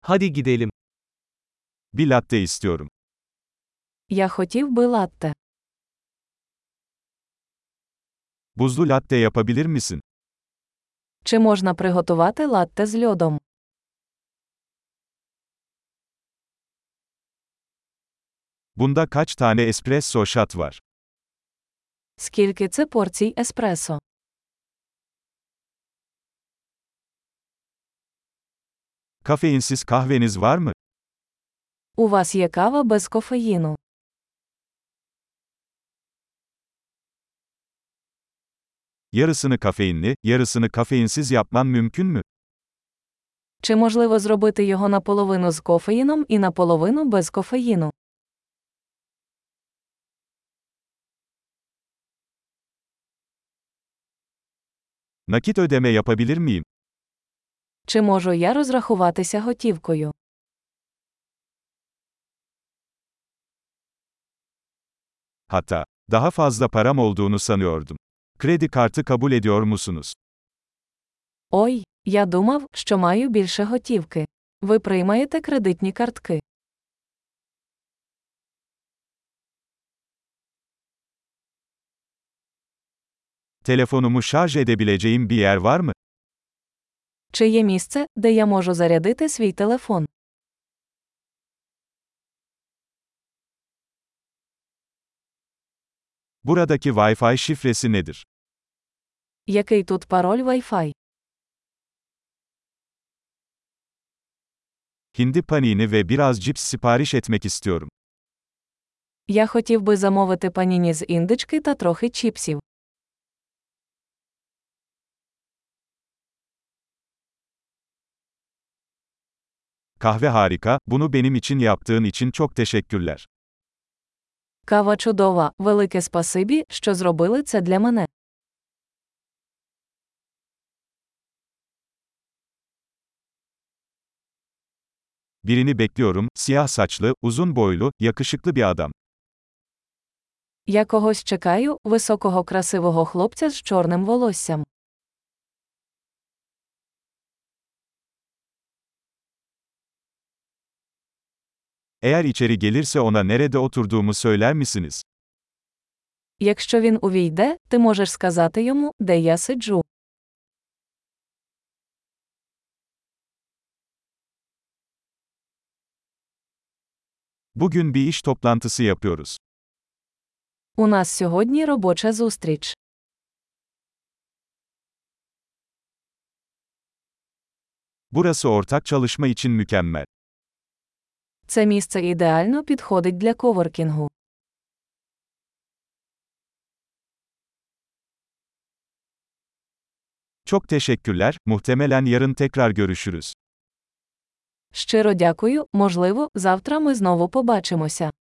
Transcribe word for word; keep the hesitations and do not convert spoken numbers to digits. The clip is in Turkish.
Hadi gidelim. Bir latte istiyorum. Я хотів би латте. Buzlu latte yapabilir misin? Чи можна приготувати латте з льодом? Bunda kaç tane espresso shot var? Скільки це порцій еспресо? Kafeinsiz kahveniz var mı? У вас є кава без кофеїну. Yarısını kafeinli, yarısını kafeinsiz yapman mümkün mü? Чи можливо зробити його наполовину з кофеїном і наполовину без кофеїну? Nakit ödeme yapabilir miyim? Чи можу я розрахуватися готівкою? Hatta, daha fazla param olduğunu sanıyordum. Kredi kartı kabul ediyor musunuz? Ой, я думав, що маю більше готівки. Ви приймаєте кредитні картки? Telefonumu şarj edebileceğim bir yer var mı? Чи є місце, де я можу зарядити свій телефон? Buradaki Wi-Fi şifresi nedir? Який тут пароль Wi-Fi? Hindi panini ve biraz cips sipariş etmek istiyorum. Я хотів би замовити паніні з індички та трохи чіпсів. Kahve harika, bunu benim için yaptığın için çok teşekkürler. Кава чудова, велике спасибі, що зробили це для мене. Birini bekliyorum, siyah saçlı, uzun boylu, yakışıklı bir adam. Я когось чекаю, високого красивого хлопця з чорним волоссям. Eğer içeri gelirse ona nerede oturduğumu söyler misiniz? Якщо він увійде, ти можеш сказати йому, де я сиджу. Bugün bir iş toplantısı yapıyoruz. У нас сьогодні робоча зустріч. Burası ortak çalışma için mükemmel. Це місце ідеально підходить для коворкінгу. Çok teşekkürler, muhtemelen yarın tekrar görüşürüz. Щиро дякую, можливо, завтра ми знову побачимося.